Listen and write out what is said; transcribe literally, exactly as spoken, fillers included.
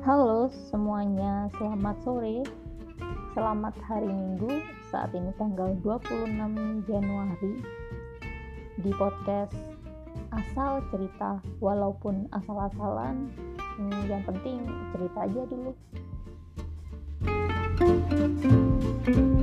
Halo semuanya, selamat sore, selamat hari Minggu. Saat ini tanggal dua puluh enam Januari. Di podcast asal cerita, walaupun asal-asalan, hmm, yang penting cerita aja dulu.